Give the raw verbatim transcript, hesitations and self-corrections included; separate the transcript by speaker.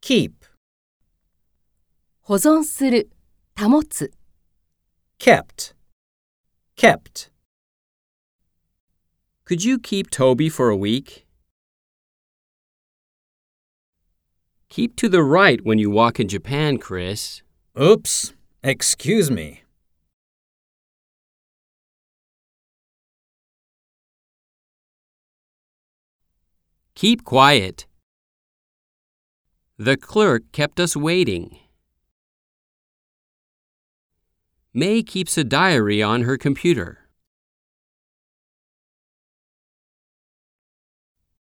Speaker 1: keep,
Speaker 2: 保存する、保つ。
Speaker 1: kept, kept.
Speaker 3: Could you keep Toby for a week? Keep to the right when you walk in Japan, Chris.
Speaker 1: Oops, excuse me.
Speaker 3: Keep quiet. The clerk kept us waiting. May keeps a diary on her computer.